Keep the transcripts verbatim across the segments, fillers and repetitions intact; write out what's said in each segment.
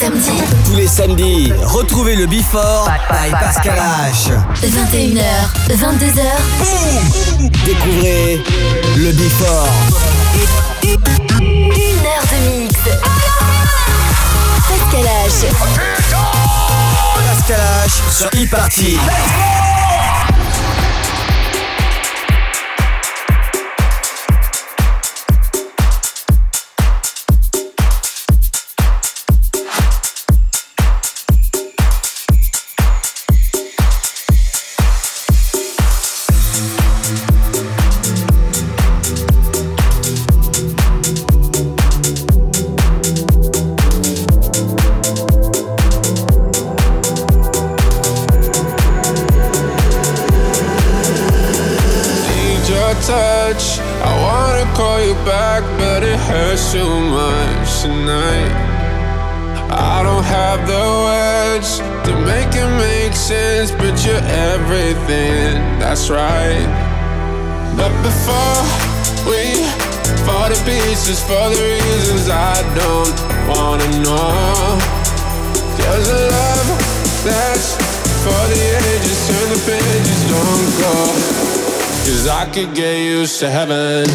samedis. Tous les samedis, retrouvez le Before by Pascal H. vingt et une heures, vingt-deux heures. Boum. Découvrez le Before. Une heure de mix. Pascal H. Pascal H sur e-party. Touch. I wanna call you back, but it hurts too much tonight. I don't have the words to make it make sense, but you're everything, that's right. But before we fall to pieces for the reasons I don't wanna know, there's a love that's for the ages, turn the pages, don't go. Cause I could get used to heaven.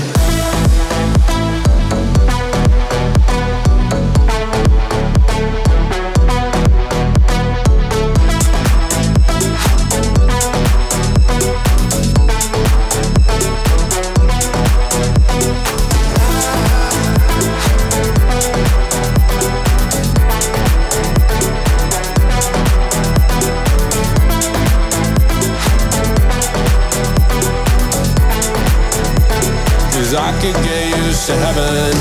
I could get used to heaven.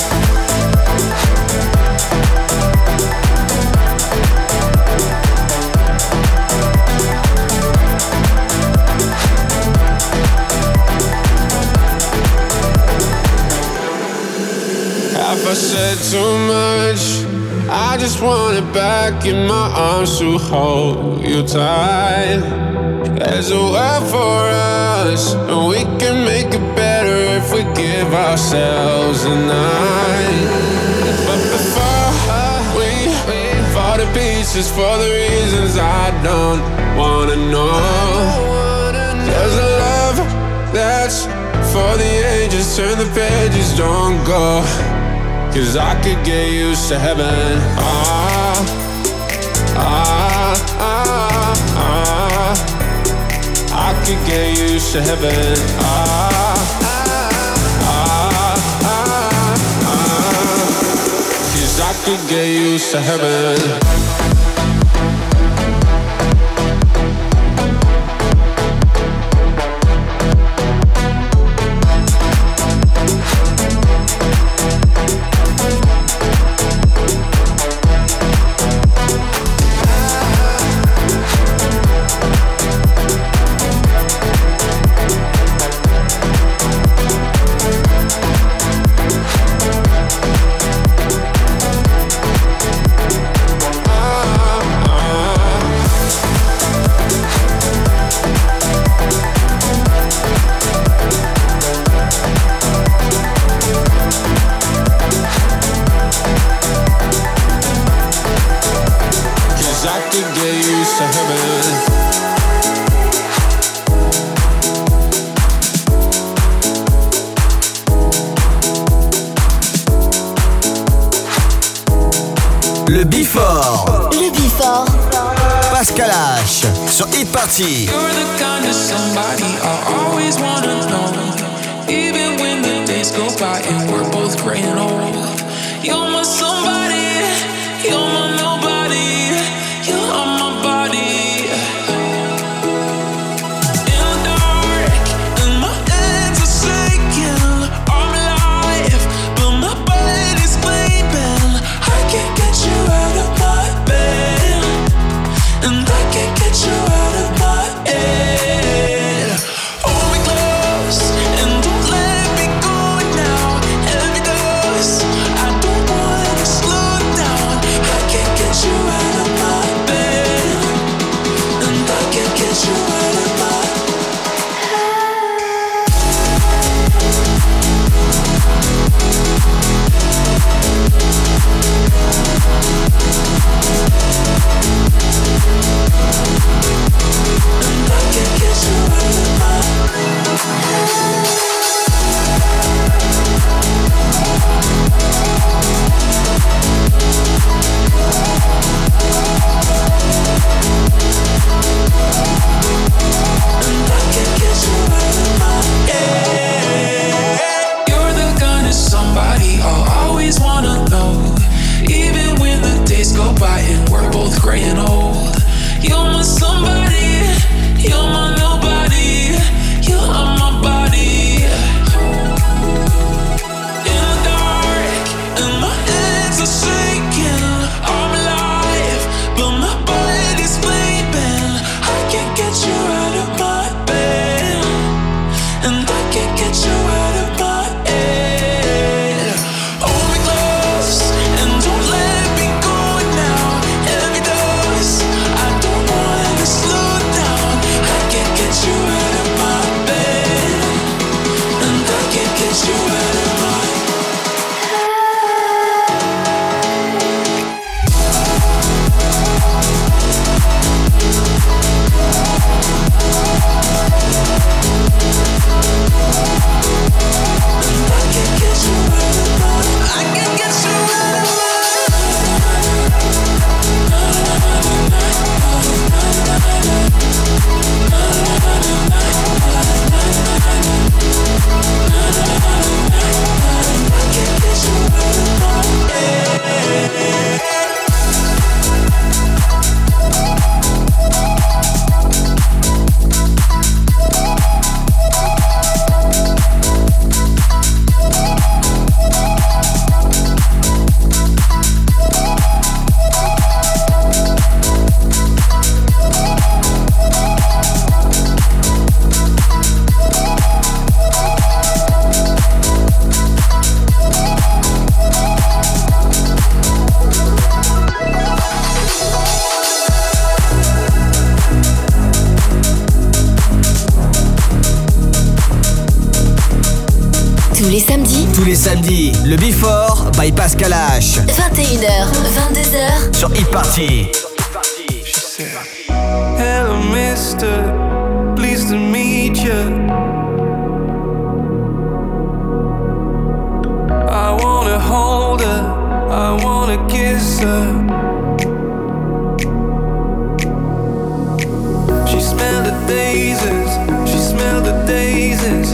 Have I said too much? I just want it back in my arms to hold you tight. There's a world for us, and we can make it better if we give ourselves a night. But before we fall to pieces for the reasons I don't wanna know, there's a love that's for the ages, turn the pages, don't go. Cause I could get used to heaven. Ah, ah, ah, ah. I could get used to heaven. Ah, ah, ah, ah. Cause I could get used to heaven. Le Before. Le Before. Pascal H sur e-party. You're the kind of somebody I always wanna know. Even when the days go by and we're both gray and old. You're my somebody, you're my nobody, you're on my body. In the dark, and my hands are shaking. I'm alive, but my body's sleeping. I can't get you out of my bed, and I can't get you out of my head. Hold me close and don't let me go now. Every dose Tous les samedis. Tous les samedis, le Before by Pascal H. vingt et une heures, vingt-deux heures. Sur Hit Party. She said, hello mister, pleased to meet you. I wanna hold her, I wanna kiss her. She smelled the daisies, she smelled the daisies.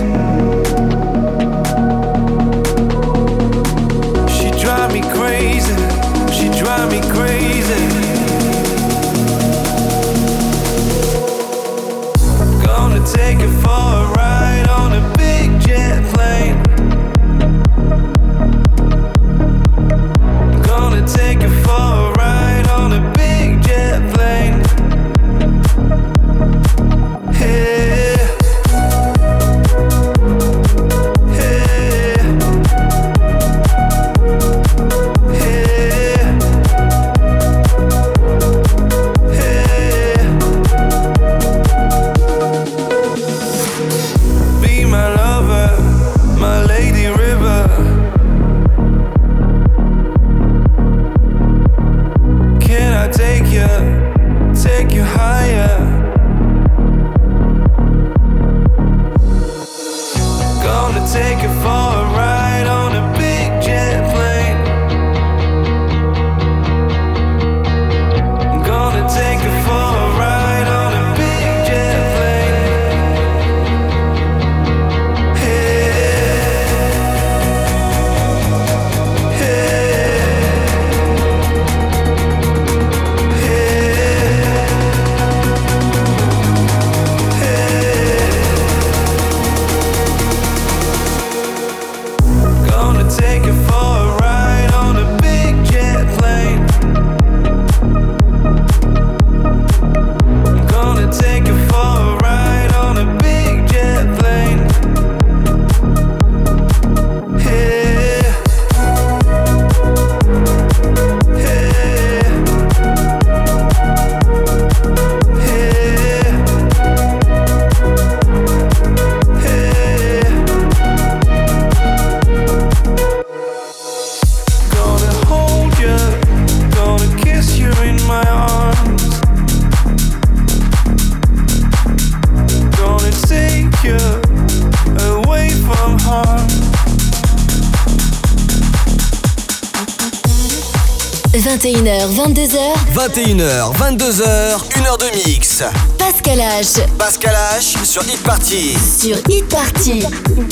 She drive me crazy, she drive me crazy. Gonna take her for a ride on a big jet plane. Gonna take her for a ride on a big jet plane. Hey, hey, hey, hey. Be my lover, my lady river. Can I take you, take you higher? Gonna take you for a ride on a big jet plane. Gonna take you for a ride on a big jet plane. Hey, hey, gonna take you for a ride on a big jet plane. Gonna take you for a ride on a big jet plane. Hey, hey, hey, hey. Gonna hold you, gonna kiss you in my arms. Gonna take you away from harm. vingt et une heures, vingt-deux heures. vingt et une heures, vingt-deux heures, une heure de mix. Pascal H. Pascal H sur Hit Party. Sur Hit Party.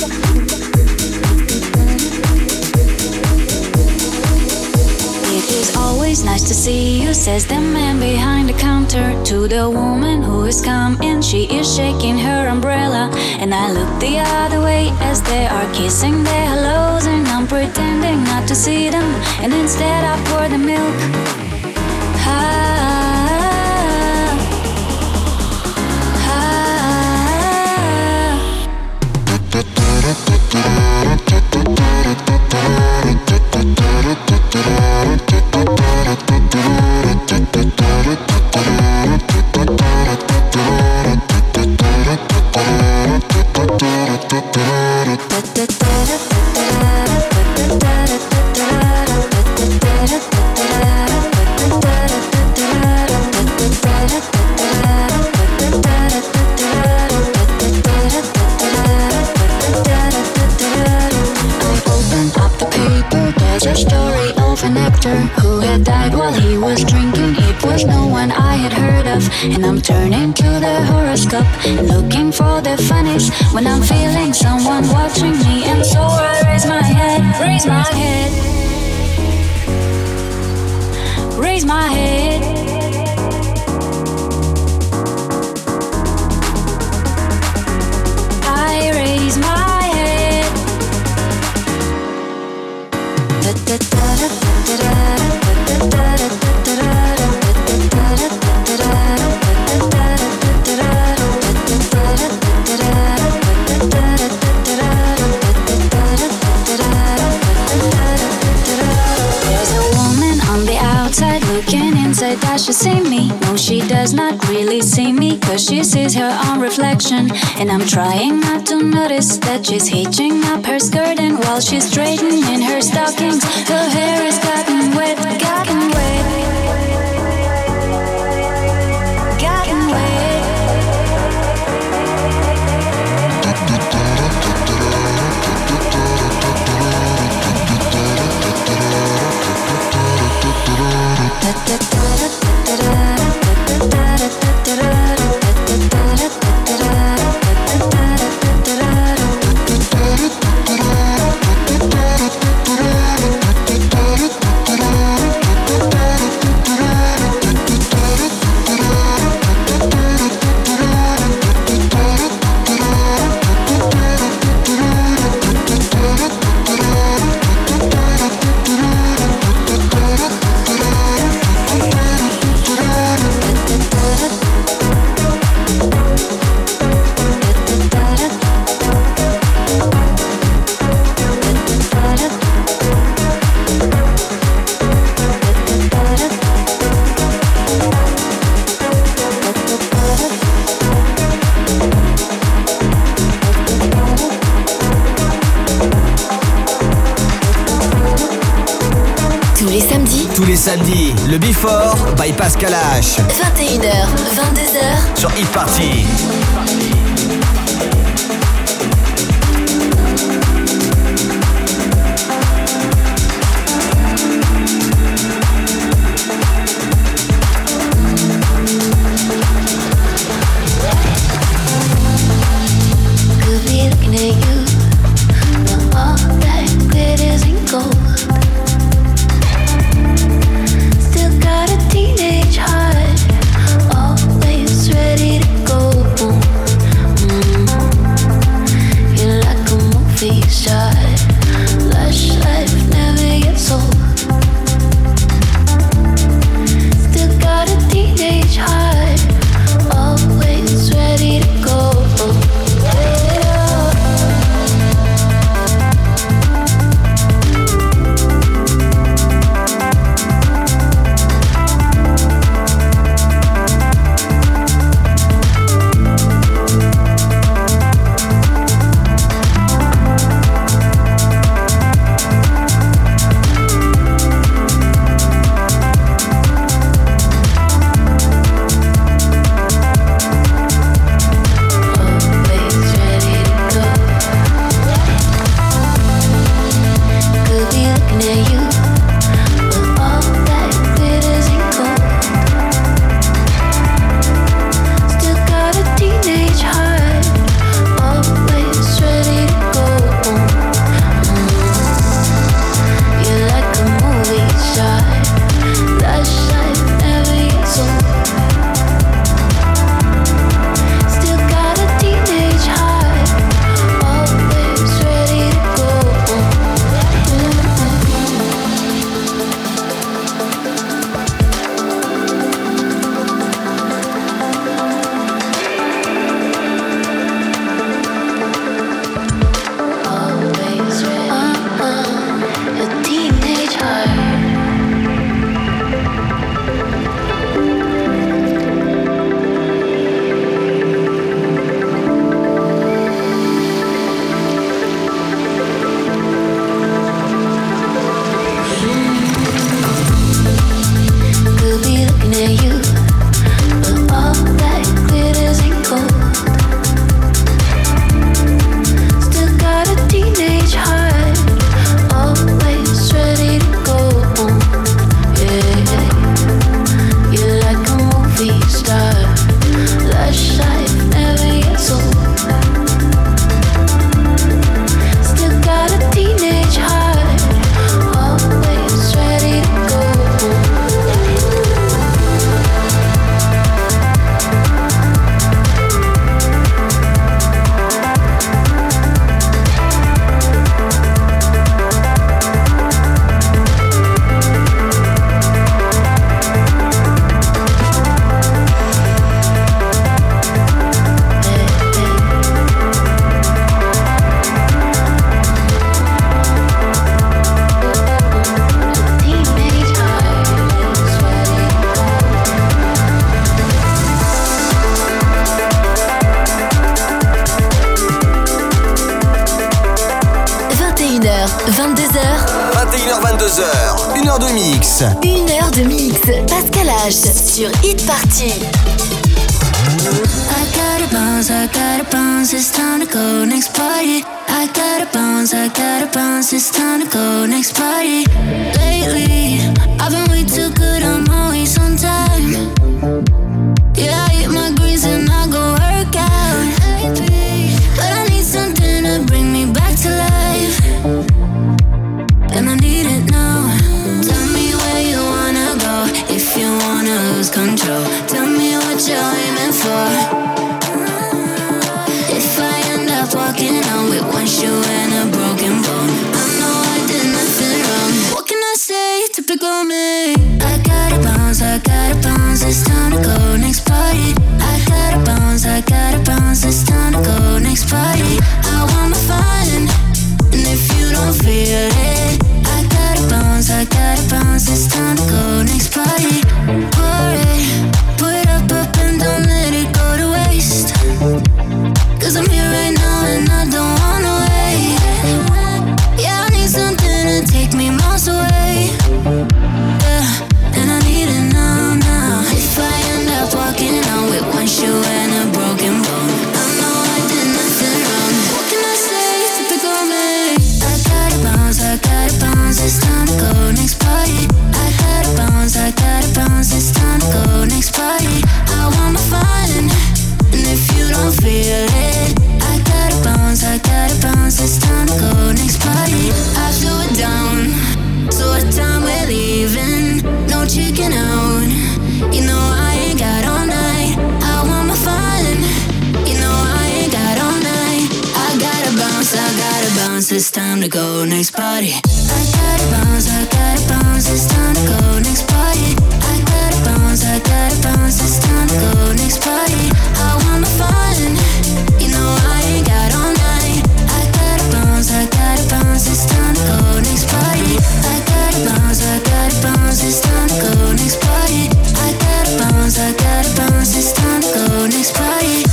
It is always nice to see you, says the man behind the counter. To the woman who is coming, she is shaking her umbrella. And I look the other way as they are kissing their hellos. And I'm pretending not to see them, and instead I pour the milk. Ah, a story of an actor who had died while he was drinking. It was no one I had heard of. And I'm turning to the horoscope and looking for the funnies when I'm feeling someone watching me. And so I raise my head, raise my head, raise my head. I raise my head. Da, da, da, da, da, da, da, da. There's a woman on the outside looking inside. That does not really see me, cause she sees her own reflection. And I'm trying not to notice that she's hitching up her skirt, and while she's straightening her stockings, her hair is gotten wet, gotten wet, gotten wet. Tous les samedis, le Before by Pascal H. vingt et une heures, vingt-deux heures sur Hit Party. Could be looking at you, but all that glitters ain't gold. Got a teenage heart, always ready to go. vingt-deux heures. vingt et une heures vingt-deux heures. Une heure de mix. Une heure de mix. Pascal H sur Hit Party. I gotta bounce, I gotta bounce, it's time to go next party. I gotta bounce, I gotta bounce, it's time to go next party. Lately, I've been way too good, I'm always on time. Yeah, I eat my greens and I go work out. But I need something to bring me back to life, and I need it now. Tell me where you wanna go, if you wanna lose control. Tell me what you're aiming for. If I end up walking out with one shoe and a broken bone, I know I did nothing wrong. What can I say? Typical me. I gotta bounce, I gotta bounce, it's time to go next party. I gotta bounce, I gotta bounce, it's time to go next party. I want my fun, and if you don't feel it, I gotta bounce, I gotta bounce, it's time to go next party. Pour it, put it up, up and don't let it go to waste. Cause I'm here right now and I don't wanna wait. Yeah, I need something to take me miles away. Yeah, and I need it now, now. If I end up walking out with one shoe and a broken bone, I know I did nothing wrong. What can I say? Typical me. I gotta bounce, I gotta bounce, it's time to go next party. I gotta bounce, I gotta bounce, it's time to go next party. I want my fun, and if you don't feel it, I gotta bounce, I gotta bounce, it's time to go next party. I slow it down, so what time we're leaving? No chicken out, you know I ain't got all night. I want my fun, you know I ain't got all night. I gotta bounce, I gotta bounce, it's time to go next party. I gotta bounce, I gotta bounce, it's time to go next party. I gotta bounce, I gotta bounce, it's time to go next party. I want my fun, you know I ain't got all night. I gotta bounce, I gotta bounce, it's time to go next party. I gotta bounce, I gotta bounce, it's time to go next party. I gotta bounce, I gotta bounce, it's time to go next party.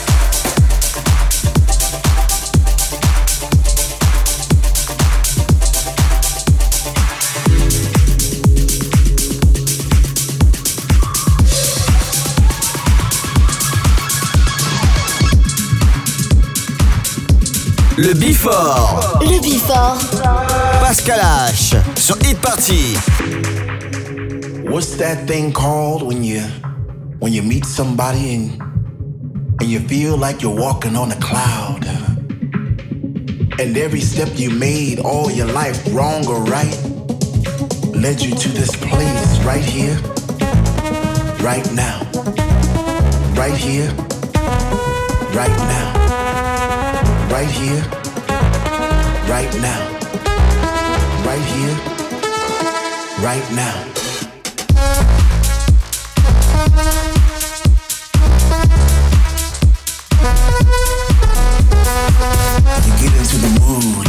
Le Before. Le Before. Pascal H sur Hit Party. What's that thing called when you when you meet somebody and and you feel like you're walking on a cloud? And every step you made all your life, wrong or right, led you to this place right here, right now. Right here, right now. Right here, right now. Right here, right now. You get into the mood.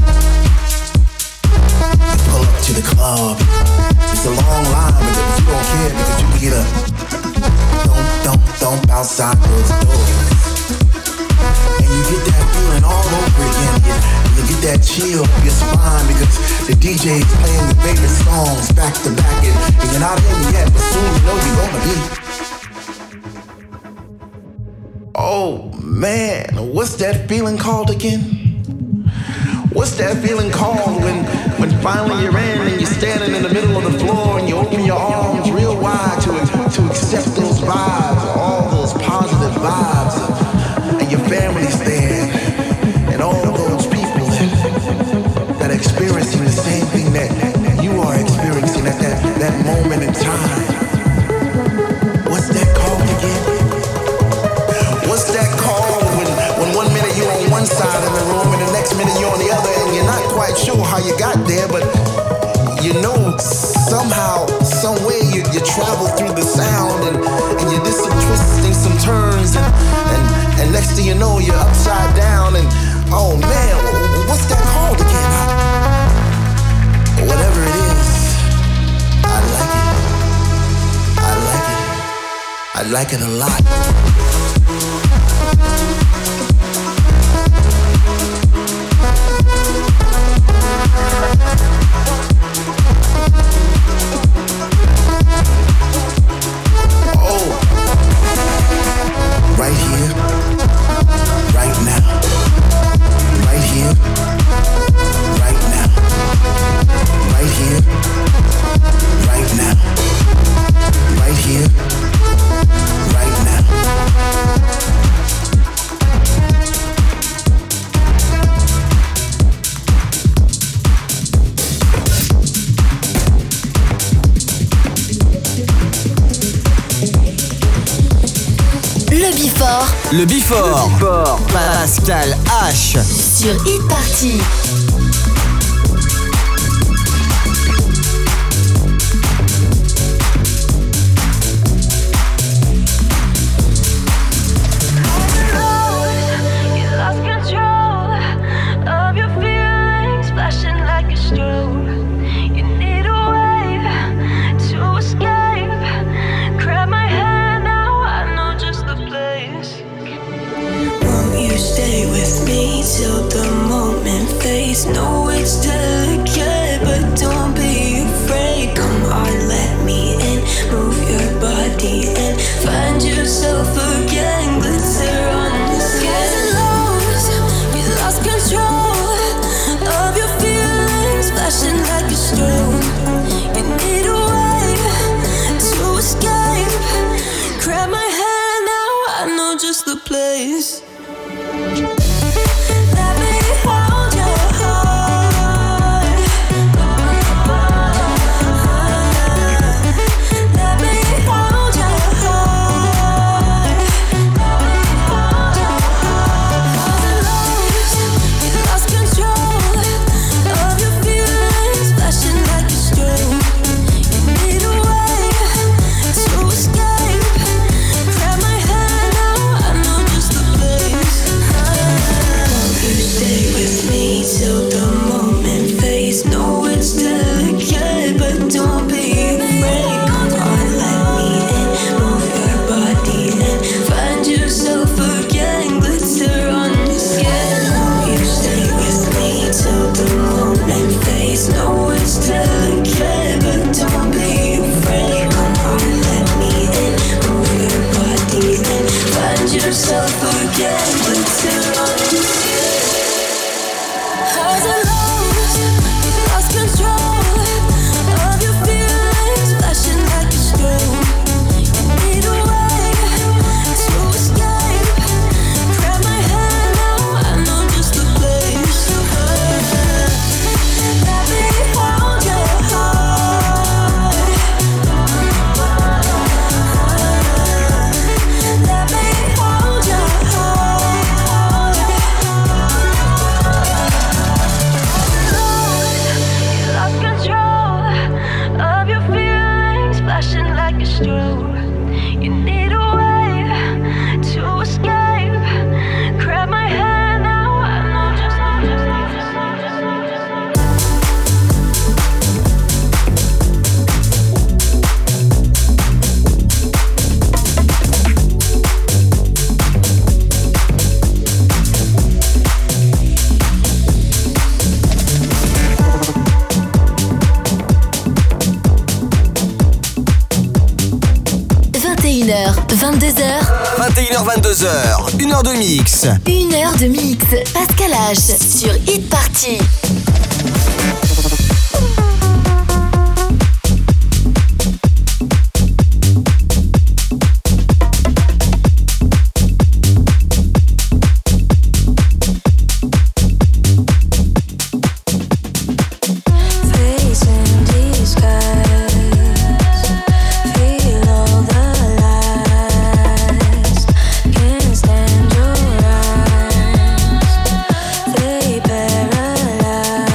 You pull up to the club. It's a long line, but you don't care because you can get a don't, don't, don't outside those doors. And you get that feeling all over again. You, you get that chill up your spine because the D J's playing your favorite songs back to back. And, and you're not in yet, but soon you know you're gonna be. Oh man, what's that feeling called again? What's that feeling called when, when finally you're in and you're standing in the middle of the floor and you open your arms real wide to, to accept those vibes, all those positive vibes. Your family's there, and all those people that, that are experiencing the same thing that you are experiencing at that, that moment in time. What's that called again? What's that called when, when one minute you're on one side of the room and the next minute you're on the other and you're not quite sure how you got there, but you know somehow, some way you, you travel through the sound and, and you did some twisting, some turns, and, and And next thing you know, you're upside down and, oh man, what's that called again? Whatever it is, I like it. I like it. I like it a lot. Before. Le Before. Le Before. Pascal H. Sur Hit Party. Till the moment fades. No, it's delicate, but don't be afraid. Come on, let me in. Move your body and find yourself again. Glitter on the skin. Lost, you lost control of your feelings, flashing like a strobe. You need a way to escape. Grab my hand now, I know just the place. vingt-deux heures. vingt et une heures vingt-deux heures. une heure de mix. une heure de mix. Pascal H sur Hit Party. Paralyzed.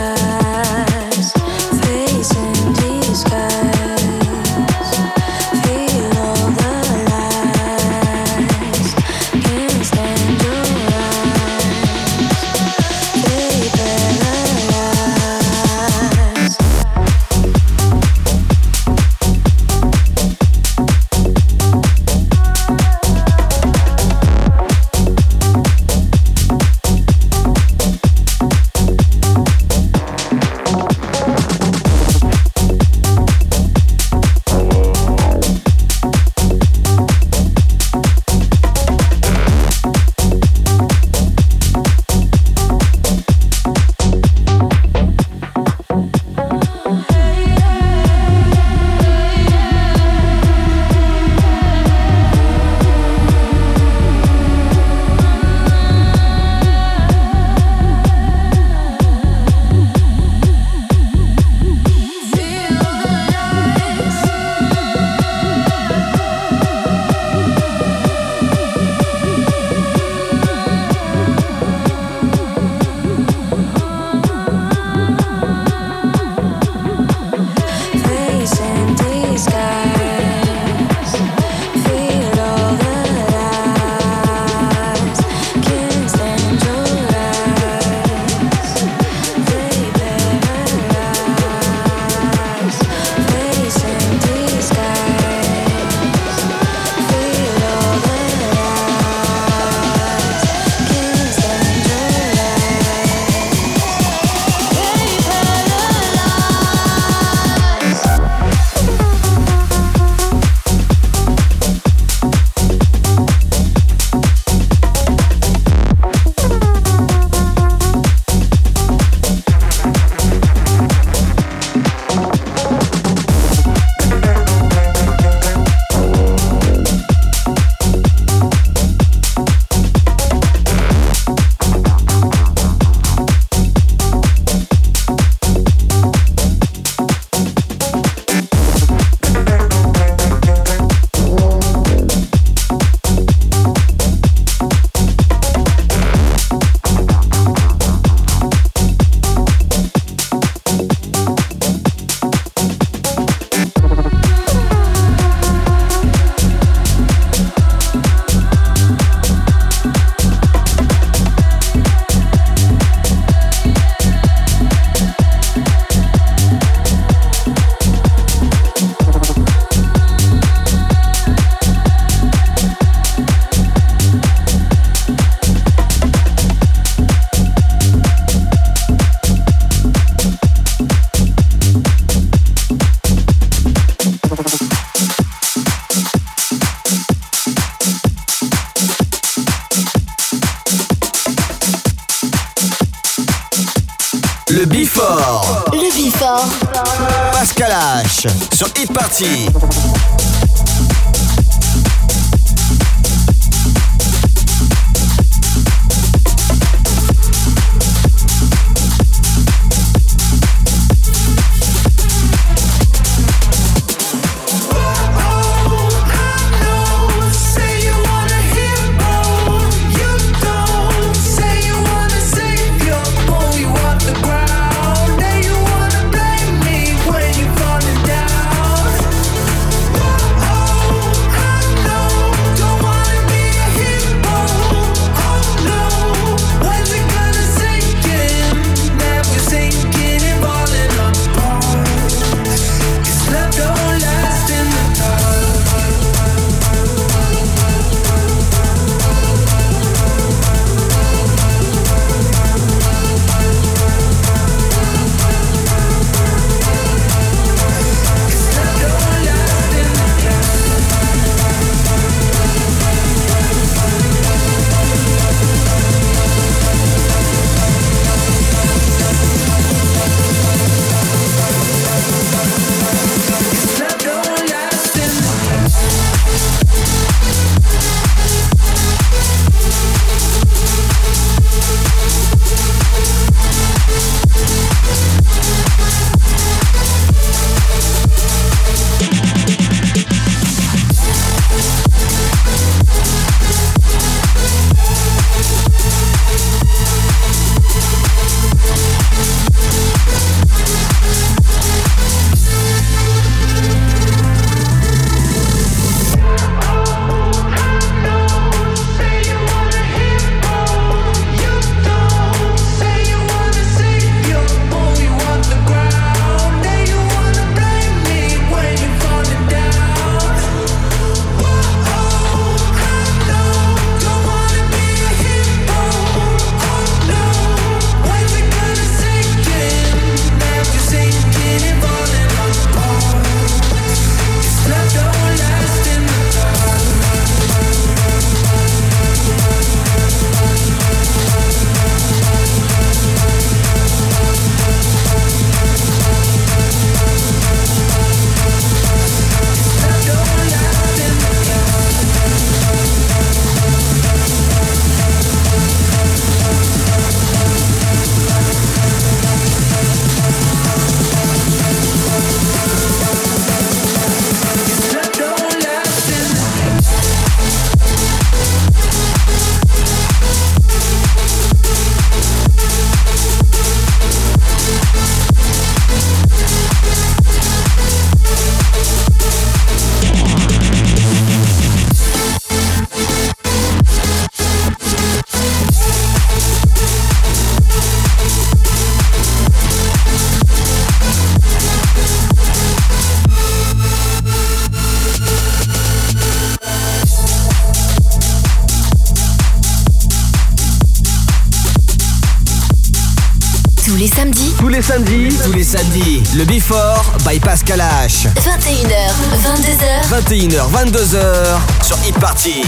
Before. Le Before. Pascal H sur Hit Party. les samedis. Tous les samedis. Tous les samedis. Le Before by Pascal H. vingt et une heures, vingt-deux heures. vingt et une heures, vingt-deux heures sur Hit Party.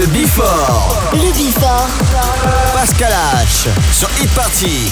Before. Le Before. Pascal H sur Hit Party.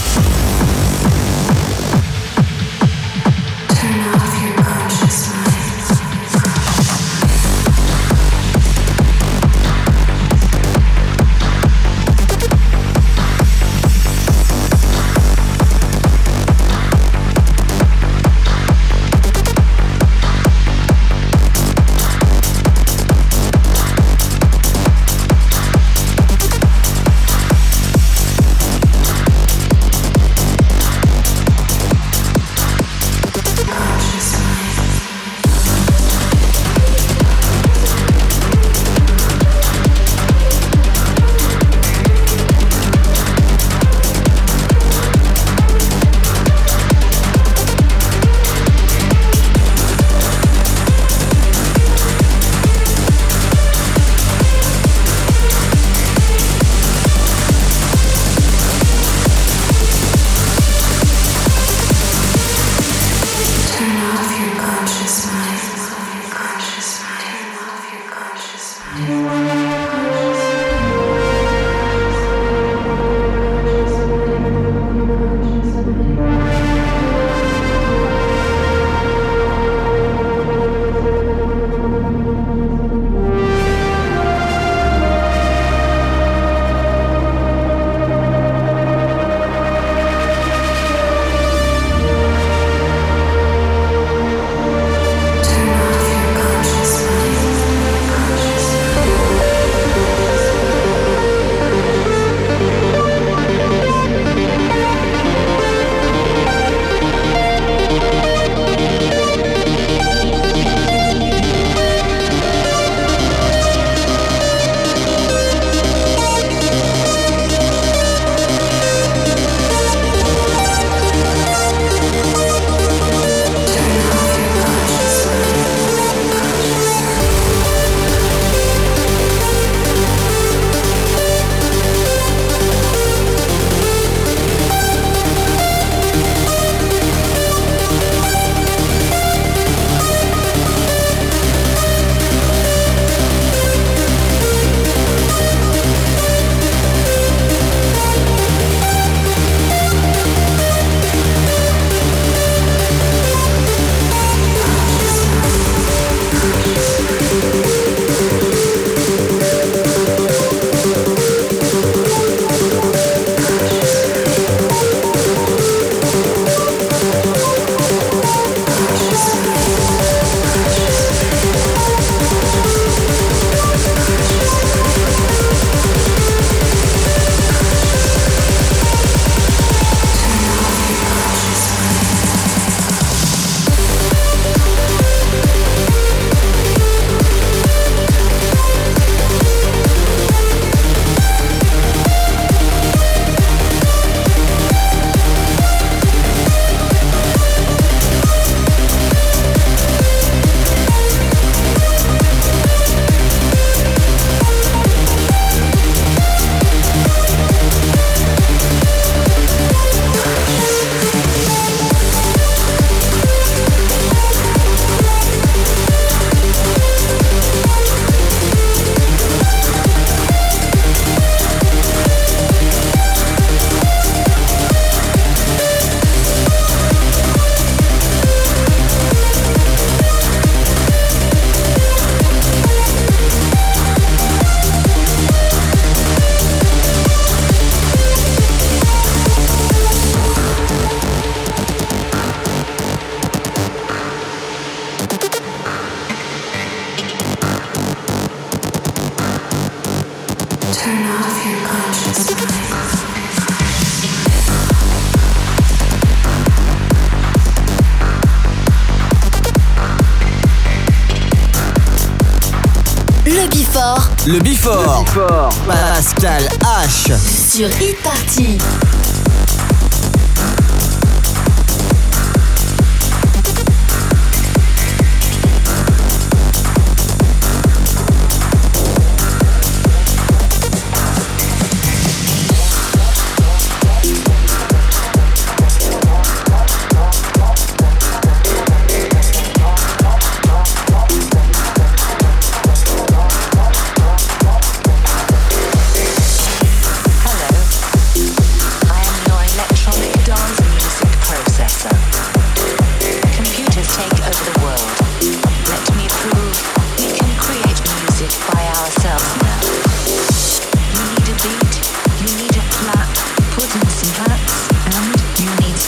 Before. Le Before. Le Before. Pascal H. Sur Hit Party.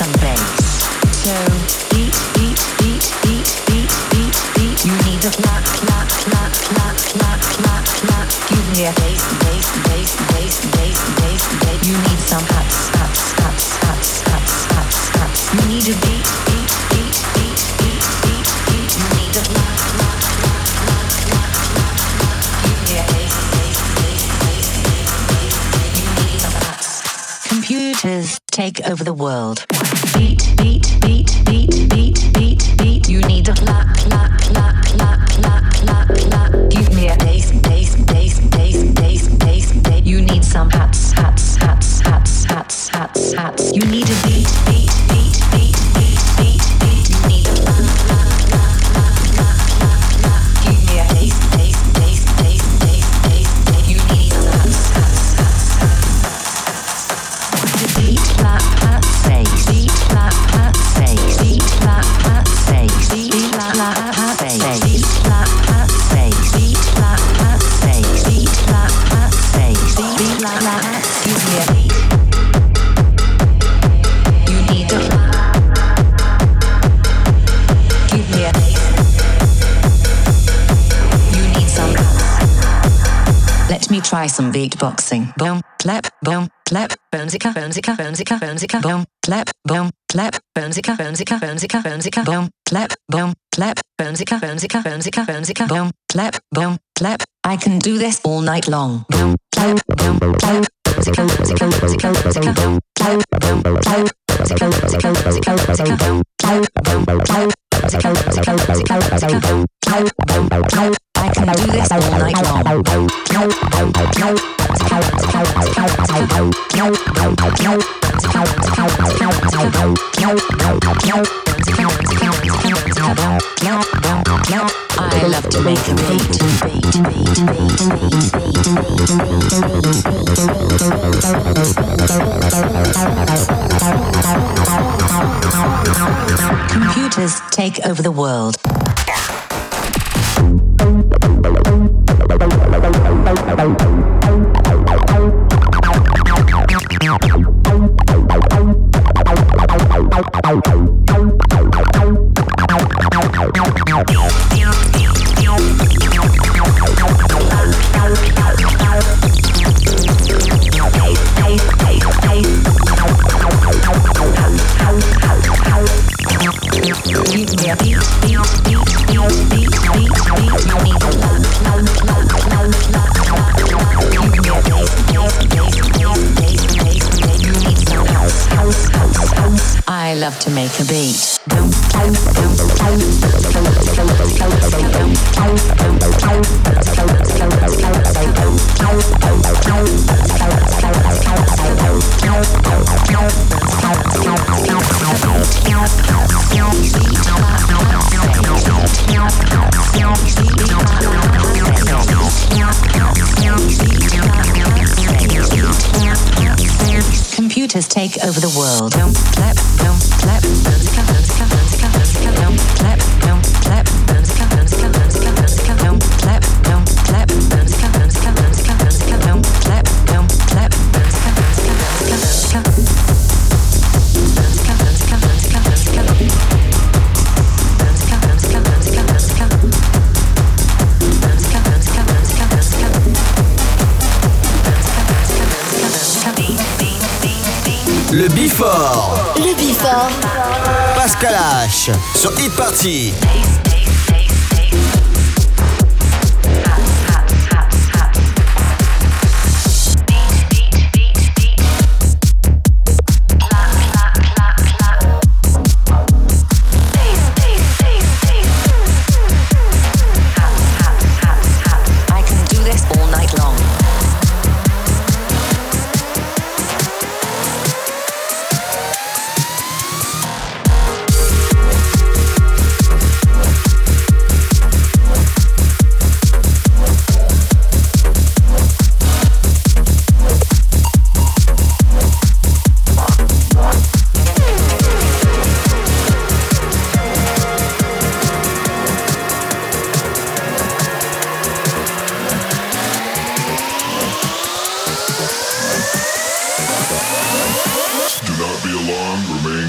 and bass. So beat, beat, beat, beat, beat, beat, beat. You need a clap, clap, clap, clap, clap, clap, clap. Give me a bass, bass, bass, bass, bass, bass, bass. You need some hats, hats, hats, hats, hats, hats, hats. You need a beat, beat, beat, beat, beat, beat, beat. You need a clap, clap, clap, clap, clap, clap, clap. Give me a bass, bass, bass, bass, bass, bass. You need some hats. Computers take over the world. Beat, beat, beat, beat, beat, beat, beat. You need a clap, clap, clap, clap, clap, clap, clap. Give me a bass, bass, bass, bass, bass, bass, bass. You need some hats, hats, hats, hats, hats, hats, hats. You need a beat, beat, beat, beat, beat, beat, beat. You need a clap, clap, clap, clap, clap, clap, clap. Give me a bass, bass, bass, bass, bass, bass, bass. You need some hats, hats, hats, hats. Beat, clap, hat, say, beat, clap, hat, say, beat, clap, hat, say, beat, clap, hat, say, beat, clap, hat, say, beat, clap, hat, say, beat, clap, hat, say, beat, clap, hat. Give me a beat. You need a clap. Give me a bass. You need some claps. Let me try some beatboxing. Boom, clap, boom, clap, boomzika, boomzika, boomzika, boomzika, boom, clap, boom, clap, boomzika, boomzika, boomzika, boomzika, boom, clap, boom, clap, boomzika, boomzika, boomzika, boomzika, boom, clap, boom, clap. I can do this all night long. Boom, clap, boom, clap, boomzika, boomzika, boomzika, boomzika, boom, clap, boom, clap, boomzika, boomzika, boomzika, boomzika, boom, clap, boom, clap, boomzika, boomzika, boomzika, boomzika, boom, clap, boom, clap. I can do this all night long. I love to make a beat, beat, beat, beat, beat, beat. Computers take over the world. Give me a beat, beat, beat, beat, beat, beat, beat. You need a loud, loud, loud, loud, loud, loud. Give me a bass, bass, bass, bass, bass, bass, bass. You need some house, house, house, house. I love to make a beat. Boom, boom, boom, boom, boom, Computers take over the world. Don't clap, don't clap, boomzika, boomzika, boomzika, boomzika, don't clap, don't clap, boomzika, boomzika, boomzika, boomzika, don't clap, don't clap, boomzika, boomzika, boomzika, boomzika, don't clap, don't clap, boomzika, boomzika, boomzika, boomzika, boomzika, boomzika, boomzika, boomzika, boomzika, boomzika, boomzika, boomzika, boomzika, boomzika, boomzika, boomzika. Le Before. Le Before. Pascal H sur Hit Party. Do not be alarmed, remain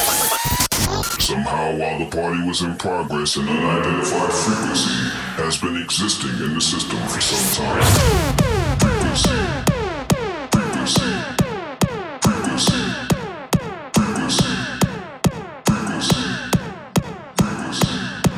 Somehow, while the party was in progress, an unidentified frequency has been existing in the system for some time. Frequency, frequency, frequency, frequency, frequency, frequency.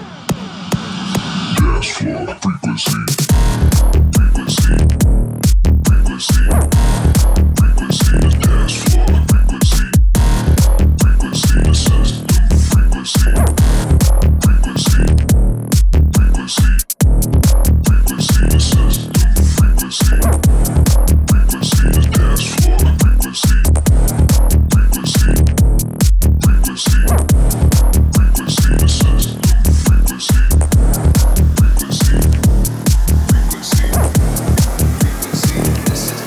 Dance floor frequency, frequency, frequency, frequency. Dance floor frequency, frequency. The system. Frequency, frequency, frequency, frequency, the system, frequency, frequency, the dance floor, frequency, frequency, frequency, frequency, the system, frequency, frequency, frequency, frequency, the system.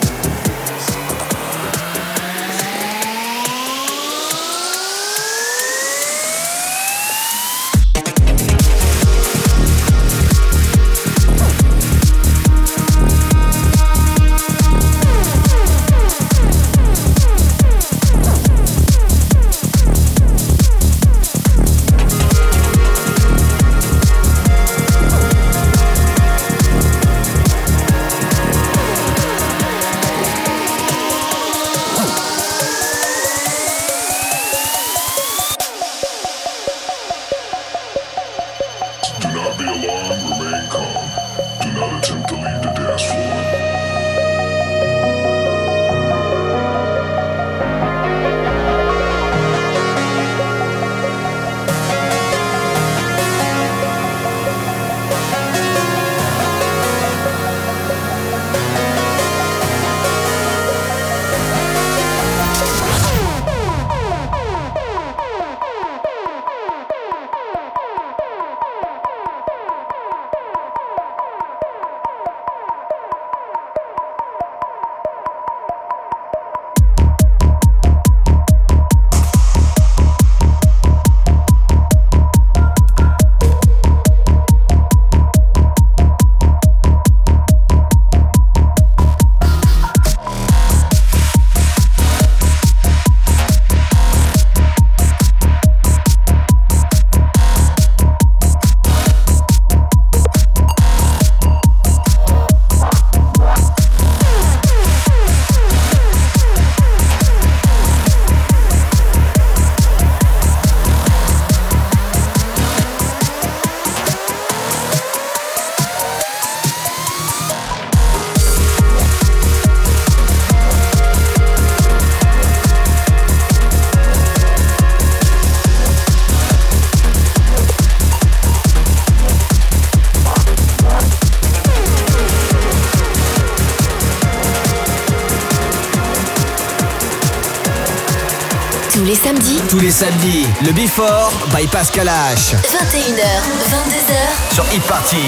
Tous les samedis. Tous les samedis, le Before by Pascal H. vingt et une heures, vingt-deux heures. Sur Hit Party.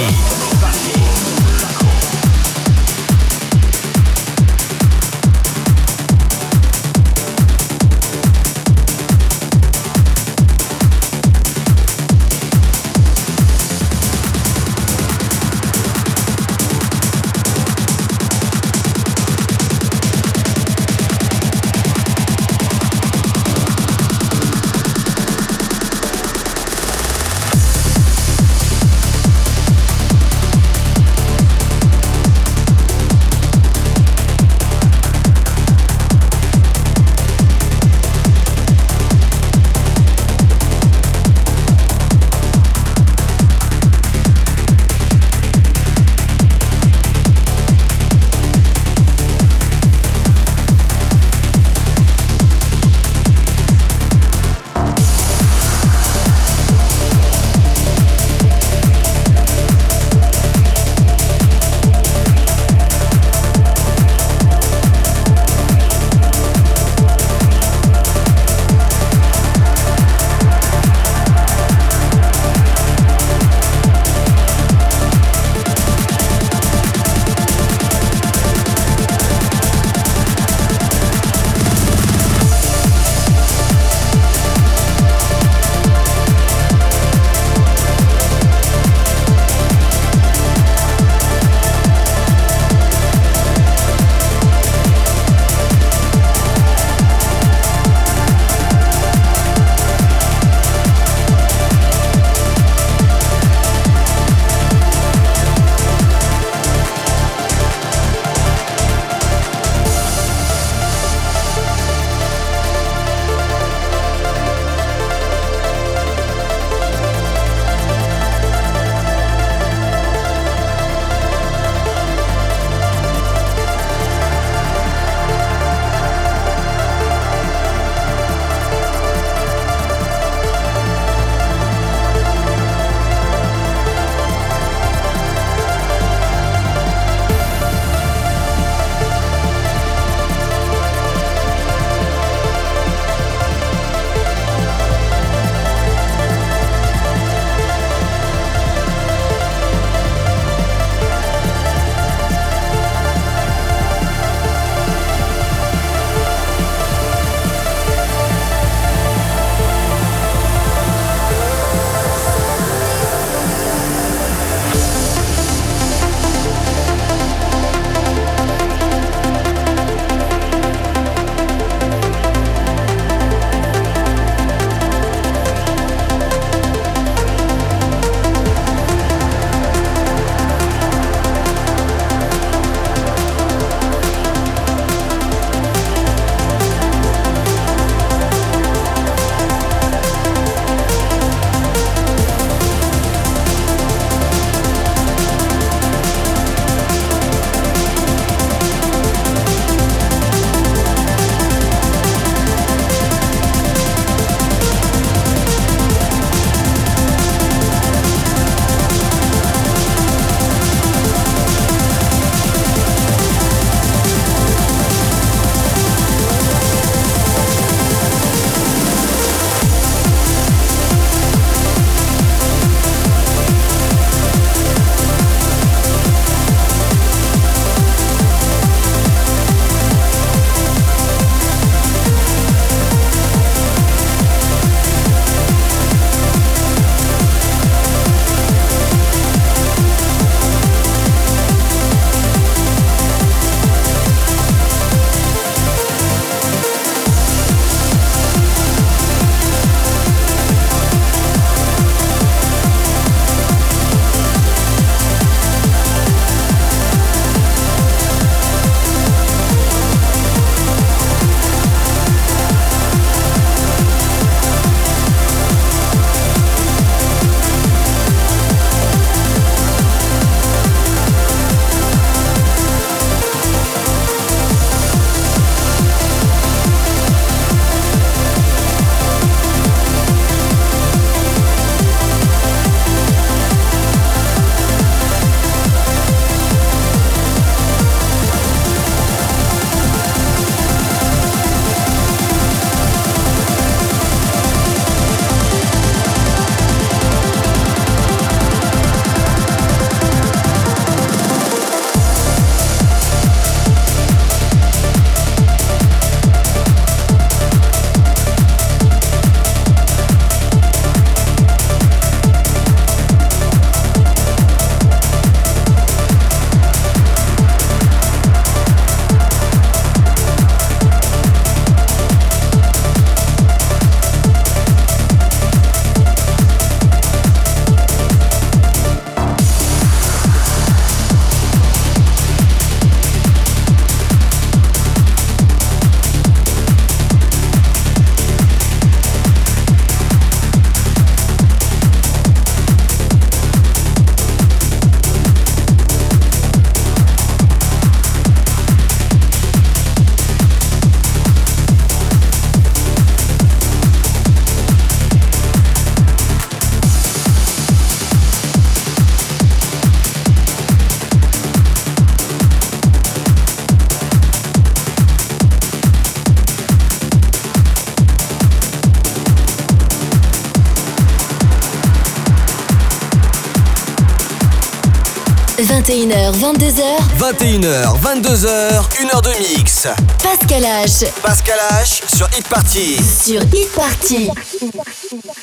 vingt et une heures, vingt-deux heures. vingt et une heures, vingt-deux heures, une heure de mix. Pascal H. Pascal H sur Hit Party. Sur Hit Party.